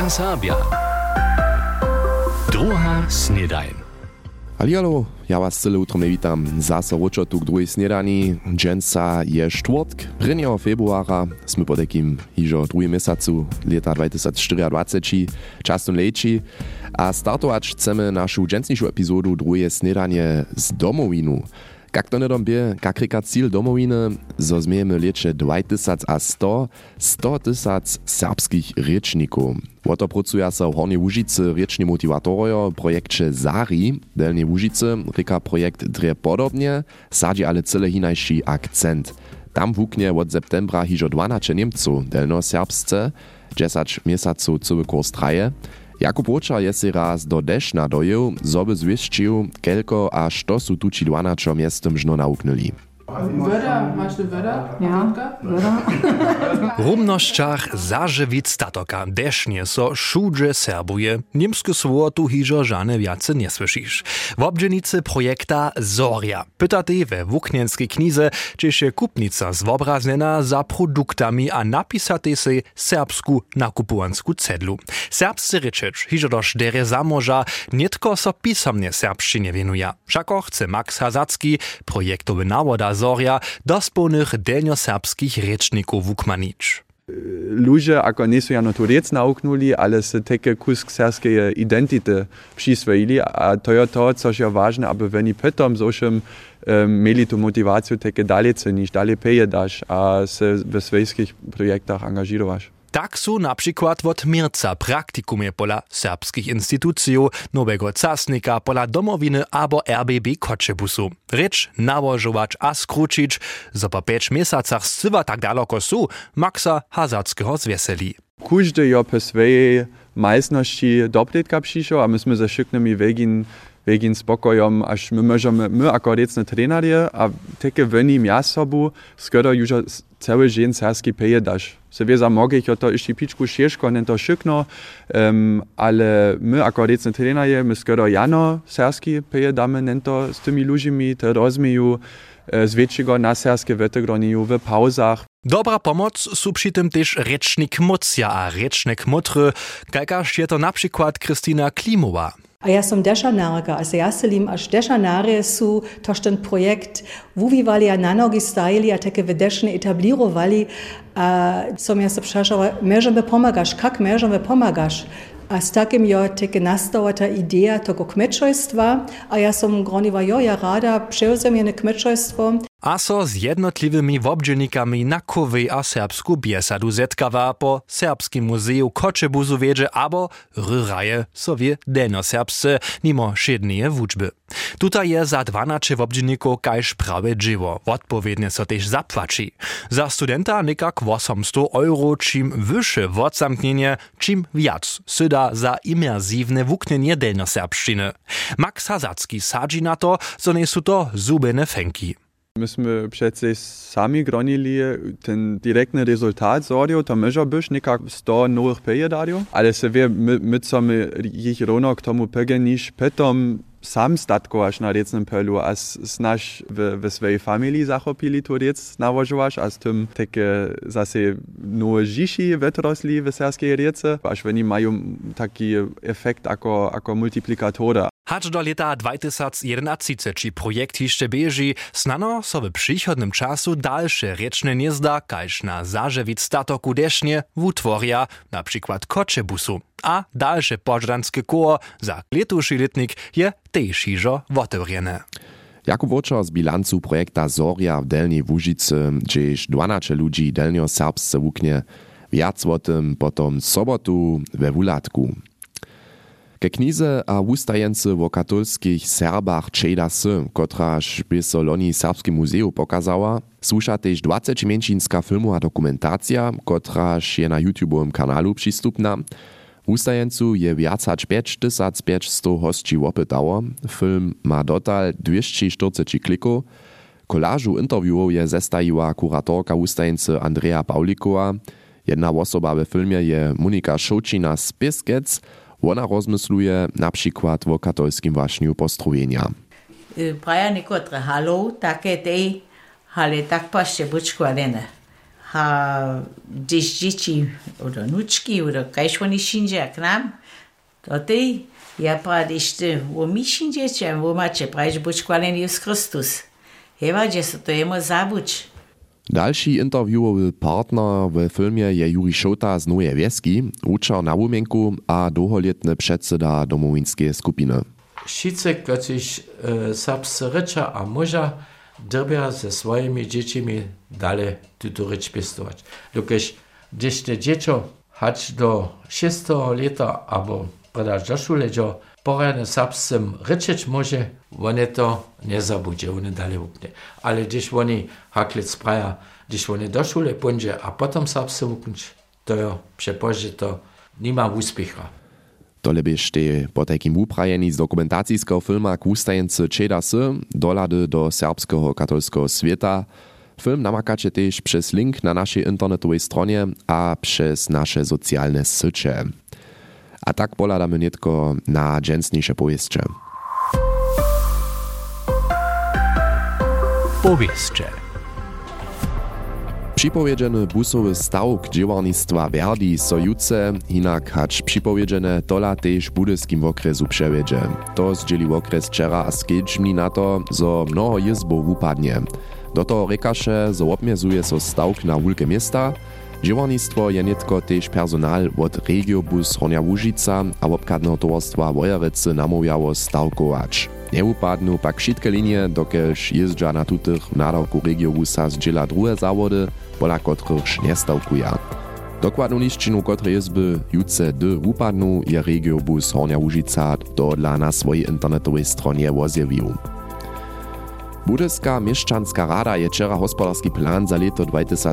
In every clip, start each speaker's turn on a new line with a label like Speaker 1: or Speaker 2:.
Speaker 1: NDR Serbia. Druga snedajn.
Speaker 2: Hallo, ja was cyle utromne witam. Zase ročotu k druhej snedani. Dženca je štvrtk, 1. februara. Sme po takým hižo druhým mesacu leta 2024, častom lejči. A startować chcemy našu džencnišu epizodu druhej snedanie z domovinu. Jak to nedom bie, kak reka cíl domoviny, zo zmiejemy lieče 2100 serbskich riečnikov. Oto pracuja sa v Hornej Łužicy riečni motivátorojo projekcie ZARI, Delnej Łužicy, reka projekt drie podobnie, sadzi ale cyle hinajší akcent. Tam wuknie od septembra hižo 12 Niemców delnoserbsce, 10 miesaców cały kurs traje. Jakub Ročar je si raz do Dešna dojel, zoby zwieszczył, kelko a što su tuči 12 miestom žno nauknuli.
Speaker 3: Wörter, masz du Wörter?
Speaker 4: Ja, Wörter.
Speaker 1: W rumnościach zażywic statoka desznie so szudże serbuje. Niemskie słowo tu hižo żane wiace nie słyszysz. W obdzienicy projekta Zoria. Pytaty we wuknienskiej knize, czy się kupnica zwobraznena za produktami a napisaty se serbsku nakupuansku cedlu. Serbscy ryczecz hižo do szdery zamoża nietko so pisamnie serbszczynie wienuje. Wszako chce Max Hazacki, projektowy nawoda Zoria, do spolnych delnjoserbskich riečnikov wukmanić.
Speaker 5: Ludzie, ako nisu jano tu riec nauknuli, ale se teke kusk serbskeje identite přisvojili, a to je to, což je ważne, aby oni potom zošem mieli tu motivaciju teke dalje ceniš, dalje pejedaš, a se ve svojskich projektach angažirovaš.
Speaker 1: Tak su na przykład od Mirca praktikumie pola serbskich instytucji, nowego casnika pola domowiny abo RBB Kotschebusu. Rycz nałożować a skručić, zo po 5 miesacach scywa tak daleko su, Maxa Hazackiego zwieseli.
Speaker 5: Każdy je po swojej majsności dobrytka przyszł, a myśmy ze szyknymi wegin spokojom, aż my możemy, my jako recne trenerie, a takie woni miasobu, skoro już cały dzień serski pejedasz. Se wie za mogich, to jeszcze piczku ciężko, nie to szykno, ale my jako recne trenerie, my skoro jano serski pejedamy, nie to z tymi ludźmi, te rozmieju, z większego na serskie wetegroniu w pauzach.
Speaker 1: Dobra pomoc su przy tym też rečnik mocja a rečnik motry, kajkaż je to na przykład Kristina Klimowa.
Speaker 4: A ja som dešanárka, a ja se lim až dešanáre sú tož ten projekt vuvívali a na nogi stajili a také vedešne etablírovali a som ja se přašala, môžeme pomagaš, kak môžeme pomagaš? A s takým jo také nastala ta idea toho kmečojstva a ja som groniva, ja rada převzem jedne kmečojstvo.
Speaker 1: A so z jednotliwymi wobdźennikami na kowej a serbsku biesadu zetkawa po Serbskim Muzeju Kotschebusu wiedzie abo ryraje sobie delnoserbsce nimo šedneje wuczby. Tutaj je za 12 wobdźenników kajż prawe dzieło, odpowiednie so też zapłaci. Za studenta nikak 800 euro, czym wyższe wodzamknienie, czym wiac syda za imersywne wuknienie delnoserbszczyny. Max Hazacki sadzi na to, so nie su to zubene fenki.
Speaker 5: Myśmy przecież sami gronili ten direktny rezultat Zorio, to może być nikak 100 nowych pejedario, ale se wie, my co my ich równo k tomu pegenisz, potom sam statkovaš na recnem pelu, a snaž v svojej familii zachopili tu rec nałožovaš, a s tym také zase nové žiši vetrosli v serskej rece, až oni majú taký efekt ako multiplikatora.
Speaker 1: Hacz do leta 2031 či projekt jeszcze bieži, snano so w przychodnym czasu dalsze riečne niezda, kajż na zażywic statoku desznie wutworia, na przykład Kotschebusu. A dalsze pożranskie koło za letuszy letnik je też hižo otevřené.
Speaker 2: Jakub Ročar z bilancu projekta Zoria w Delnej Łužicy, gdzieś 12 ludzi delnjoserbsce wuknie, wiac o tym potom sobotu we Wulatku. Ke knize a wustajence wo katolskich Serbach Čejda sy, kotraž by so loni Serbskim muzeju pokazała, słuša tež 20-mienčinska filmu a dokumentacja, kotraž je na YouTubeovym kanalu przystupna. Wustajencu je viac hač 5500 hostči opytało. Film ma dotal 240 klikov. Kolażu interviewów je zestajiła kuratorka wustajence Andrea Paulikowa. Jedna osoba we filmie je Monika Šoučina z Piskec. Ona rozmysluje na przykład o katolskim waśniu postrojenia.
Speaker 3: Praja nekotre halo, takie tej, ale tak pašte bučko arene.
Speaker 6: Když děti, oder nučky, oder kajž oni šinže k nám, to ty, ja pra, když ty, wo mi šinžeče, wo mače, prajž buď kvalen Jezus Christus. Heva, že se to jemu zabuč.
Speaker 2: Další interviewowy partner w filmie je Juri Šota z Nowej Wieski, uczar na wumienku a długoletny przedseda domowinskiej skupiny.
Speaker 7: Wszyscy, którzy serbscy rycza a muża, drbia ze swoimi dziećmi dalej tuto rycz pistować. Gdyż te dziecko hać do 6 lata albo predać do szule, że poradne serbskim ryczeć może, one to nie zabudzi, one dalej upnie. Ale gdyż oni haklic praja, gdyż oni do szule pójdzie, a potem serbscy upnić, to jo, przepoży to nie ma úspěcha.
Speaker 2: Tole byś te po takim uprajeni z dokumentacijskiego filma Kustajence Čedasy dolady do serbskiego katolskiego świata. Film namakacie też przez link na naszej internetowej stronie a przez nasze socjalne sycie. A tak poladamy nietko na dżęsniejsze powieście.
Speaker 1: Powieście.
Speaker 2: Připowiedzieny busowy stawk dziewarnictwa Verdi so jutce, hinak hacz připowiedziene tola tež budyskim okresu przewiedzie. To zdzieli okres wczera a skedźmni na to, zo mnoho jizbów upadnie. Do toho rekaše, zo obmezuje so stawk na wulke miesta. Dziewarnictwo je netko tež personal od Regiobus Hornia Łužica a obkadného towarstwa Wojerecy namówiało stawkować. Nie upadną pak wszystkie linie, dokelž jezdża na tutych nadawku Regiobusa zdziela druhe zawody, pola kotrych nie stawkuja. Dokładną liszczinu kotre jezby jutce upadną je Regiobus Hornia Łužica dodla na swojej internetowej stronie ozjawił. Budyska mieszczanska rada je wczera hospodarski plan za leto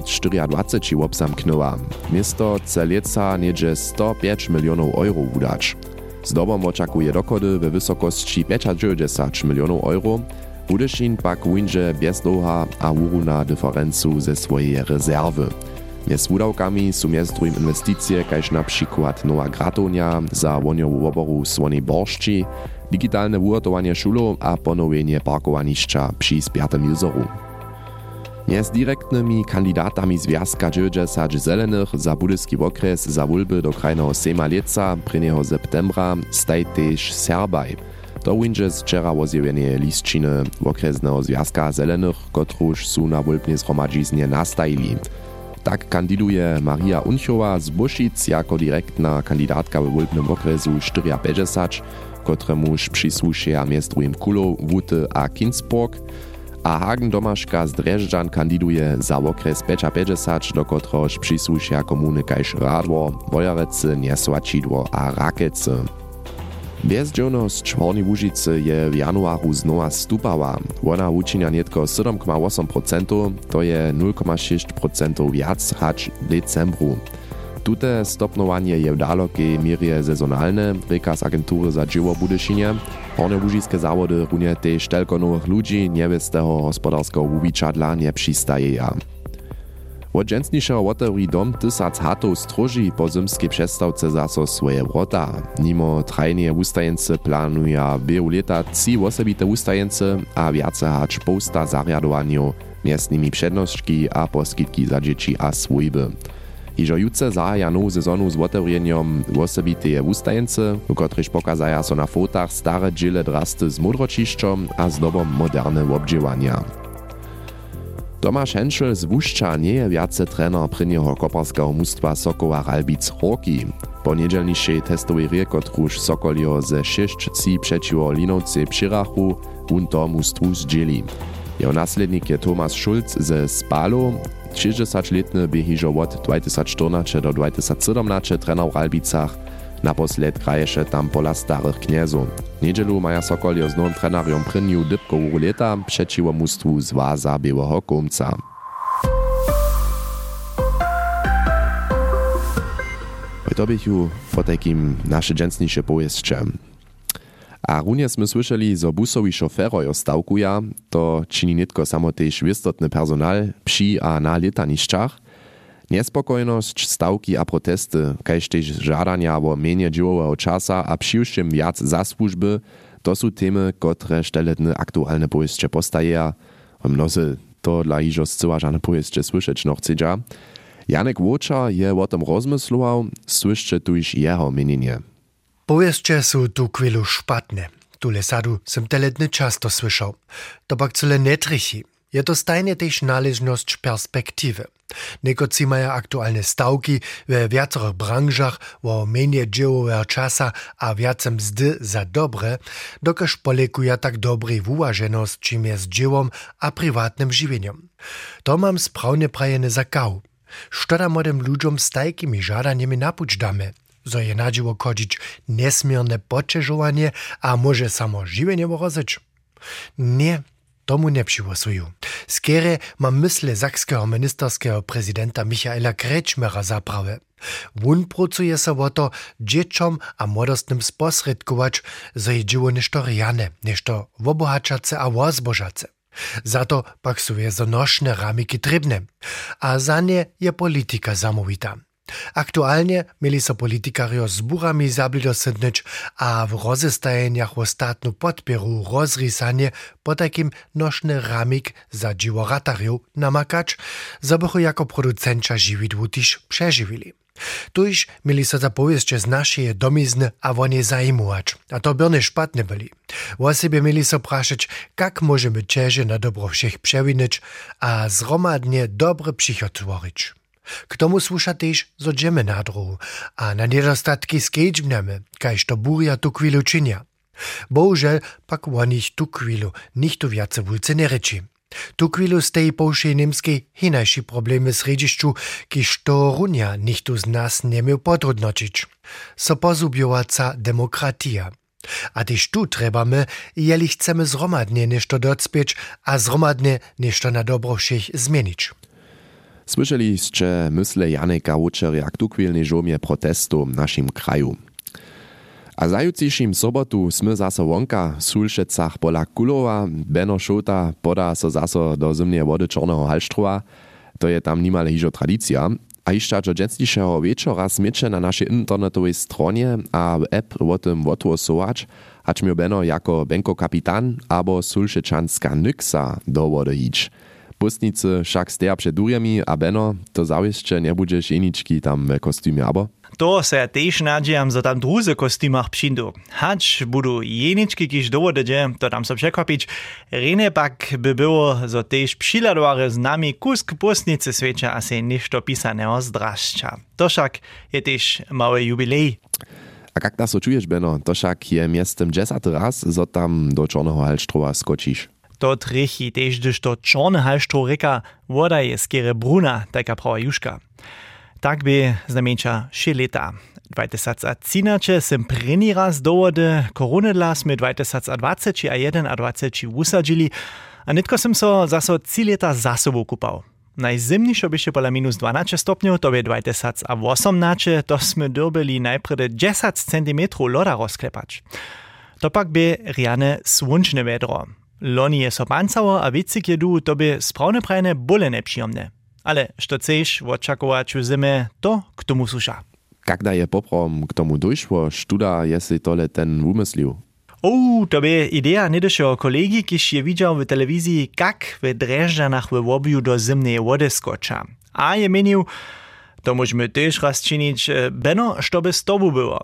Speaker 2: 2024 obzamknęła. Miasto chce leca niedzie 105 milionów euro wydać. Zdobom oczekuje dochody we wysokości 95 milionów euro. Budyszin pak windzie bez dłuha a uruna dyferencu ze swojej rezerwy. Mjez wudawkami są mjez drugim inwestycje, kaž na przykład nowa gratonia za woniowu oboru Słonej Borszczy, digitalne ugotowanie szulów a ponowienie parkowanišća przy Spiatym jezoru. Mjez direktnymi kandidatami związka 90 zelenych za budyski okres za wulby do krajnego sejma leca 1. septembra staj tež Serbaj. To windzie z wczera ozjawienie listčiny okresnego związka zelenych, kotruž su na wulbnie zhromadźiznie nastajili. Tak kandiduje Maria Unchowa z Buszic jako direktna kandidatka w wulbnym okresu 54, kotremuż przysłušeja miest drugim Kulow, Wuty a Kinsburg, a Hagen Domaszka z Drežďan kandiduje za okres 55, do kotrož przysłušeja komuny kaž Radwor, Wojerecy, Niesłačidło a Rakece. Bezdzielnosć Hornej Łužicy je w januaru znowa stupała. Ona uczynia nietko 7,8%, to je 0,6% wiac hacz w decembru. Tute stopnowanie je w dalekiej mierze sezonalne, reka z agentury za dzieło Budyšinie. Horne łužickie zawody runie też telko nowych ludzi nie z tego gospodarskiego wubiczadla nie przystajeja. Od dżęsniejszego otewri dom 1000 hatów stróży po zimskiej przestawce zaso swoje wrota. Nimo trajnie ustajence planuje wielu lata 3 osobite ustajence a wiace hacz posta zariadowaniu, miestnymi przednościki a poskitki za dzieci a swójby. Iżo jutce zahaja nową sezonu z otewrieniem osobite ustajence, w których pokazaja so na fotach stare dżile drasty z mudročišćom a zdobom moderne obdziewania. Tomasz Henschel z Wušća nie je viace trener prvneho koparského mustwa Sokoła Ralbic Horki. Po niedzielnišej testowej rije, kotruž Sokolio ze 6-3 przeciwo Linovce přirachu, on to mustwu zdzieli. Jeho naslednik je Thomas Schulz ze Spalo, 60-letny by hižo od 2014 do 2017 trener w Ralbicach, naposled kraješe tam pola starych kniezów. Niedzielu maja Sokolio z nowym trenerem prvniu dybkovu leta przeciwo mustwu Zwaza Białego Komca. To bychu po takim nasze dżęsniejsze powieście. A runie sme słyszeli, zo busowi šoferojo stawkuja, to czyni nitko samo tež wistotny personal przy a na letanišćach. Niespokojnosť, stawki a protesty, kaž tež žadania o menie džiwowego czasa a přiwšim viac za słužby, to sú témy, które šteletne aktualne powieście postajeja. Mnozy to dla iżo zcyła żane pojeździe słyszeć no chcedza. Janek Łočar je o tym rozmyslował, słyszcie tu iż jeho mienienie.
Speaker 8: Pojeździe są tu chwilu szpatne. Tule sadu sem teledny často słyszał. To pak cyle netrichi. Je to stajnie też należność perspektywy. Nekoci mają aktualne stawki w wiacorych branżach o mniej dziełowego czasa a więcej mzdy za dobre, dokaż polekuje tak dobrej uważeność, czym jest dziełom a prywatnym żywieniem. To mam sprawnie prajene za kał. Szkoda młodym ludziom z takimi żadaniami napuć damy. Zo je nadziło kodzić nesmierne poczeżowanie, a może samo żywienie rozeć? Nie, tomu nie przygłosuju. Skiery mam myślę sakskiego ministerskiego prezydenta Michaela Kretschmera zaprawę. Wun pracuje se o to dzieciom a młodostnym sposredkować, zo je dzieło ništo rjane, ništo obohačace a wozbožace. Za to pak su je zanošne ramiki trybne, a za nie je politika zamówita. Aktualnie mieli so politikario z burami zablidosednyć, a w rozestajeniach ostatnu podpieru rozrysanie po takim noszny ramik za dziwo ratariów namakać, zabychu jako producencia żywidłu też przeżywili. Tuż mieli so zapowiedzieć z naszej domizny a wonie zajmować, a to by nie szpatne byli. O sobie mieli so praszać, jak możemy cieże na dobro všech przewinąć, a zromadnie dobry przychod tworzyć. K tomu słusza też, zo dżemy na drogu, a na niedostatki skedźbniamy, kajż to buria tu chwilu czynia. Bohužel pak o nich tu chwilu nichtu więcej wulce nie reči. Tu chwilu z tej połszej niemskiej hinajší problemy z redišću, kiž to runia nichtu z nas nie miał potrudnočić. So pozubiowaca demokratia. A też tu trebamy, jeli chcemy zromadnie nešto docpieć, a zromadnie nešto na dobro všech zmienić.
Speaker 2: Słyszeliście myśle Janeka Łočarja k tukwilnej żomie protestu w naszym kraju. A zajutrzyjszym sobotu sme zaso wonka w Sulšecach pola Kulowa, Beno Šota poda so zaso do zimnej wody Czarnego Halštrova. To je tam nimale hižo tradicja. A jeszcze do dziecniejszego wieczora smiecze na naszej internetowej stronie a app o tym odgłosować, hać mi Beno jako Benko kapitan albo Sulšečanská Nyxa do wody hić. Pustnicy však steja przed durjami a Beno, to zawieszcze nie budżesz jeniczki tam w kostiumie, abo?
Speaker 9: To se ja tež nadžijam, za tam druze kostymach přindu. Hač budu jenički, kiž dovodeđe, to tam so překvapić. Rene pak by było, zo tež přiladovare z nami kusk pustnice sveča a se ništo pisaného zdrašča. To však je tež mały jubilej.
Speaker 2: A jak to czujesz, Beno? To však je miestem 10 raz, zo tam do Czarnego Halštrova skočíš.
Speaker 9: To trichi tež, gdyż to Czarny Halštrov reka, woda je skere bruna, taka prawa juška. Tak by znamieńcza 3 lata. 2013 sem první raz do vody, koronedla sme 2020 a 2021 usadzili, a netko sem so zaso 3 lata za sobou kupal. Najzimniejsze byście pola minus 12 stopňov, to by 2018, to sme dobili najprve 10 cm loda rozklepać. To pak by riane słončne vedro. Loni je so pancało, a vicik jedu, to by sprawne prajne bole nepříjemne. Ale što chceš očakować u zimy, to k tomu słuša.
Speaker 2: Kada je poprom k tomu dojšło, študa jestli tole ten umyslił?
Speaker 9: To by idea nedešeho kolegi, kiž je widział w telewizji, jak w Drežďanach w obiu do zimnej wody skoča. A je menił, to możemy też raz czynić, Beno, što by z tobu było.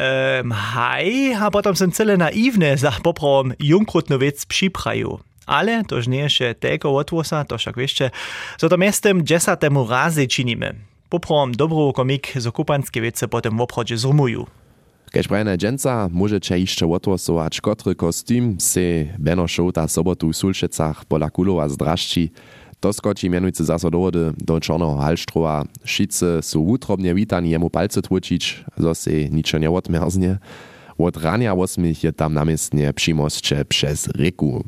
Speaker 9: Haj, a potom sem cele naiwne za poprom junkrutnu věc připraju. Ale tož nie je tego otwosa, to však wiecie, co to miestem 10 razy czynimy. Poprom dobrou komik z okupanskie wiece potem w obchodzie zrumuju.
Speaker 2: Kež prajne dženca môžete ešte otvosować, kotry kostým se Beno Šota sobotu v Sulšecach pola Kulova zdrašči. To skočí mianujúce zaso do vody do Čarného Halštrova. Šice sú útrobne vítani jemu palce tvočić, zo se ničo neodmerznie. Od rania 8 je tam namiestne přimosće přes reku.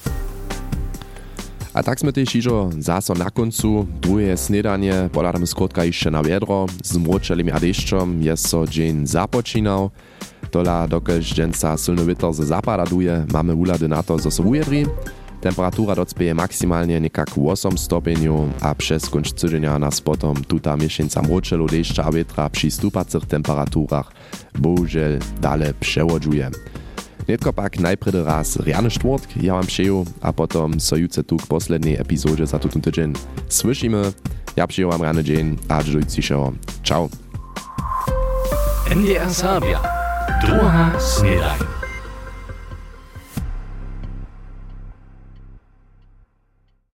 Speaker 2: A tak sme tež ižo zaso na koncu. Druhé snedanie podádame skrótka ešte na viedro. S mročelým a dešťom je so džen započínal. Tola dokež dženca silny vietor ze zapada duje, máme úlady na to, zo so ujedri. Temperatúra docpeje maximálne nekak 8 stopňov a přes konč cyženia nás potom tuta miešenca mročelu dešťa a vietra pri stúpacích temperatúrach bohužel dále převodžuje. Netko pak najpredy raz rjany štvrtk, ja wam přeju, a potom so jutce tu k poslednej epizodě za tutun tydzień słyszymy. Ja přeju wam rany dzień, a do dzisiejszego. Ciao.
Speaker 1: NDR Serbia. Druga snedaj.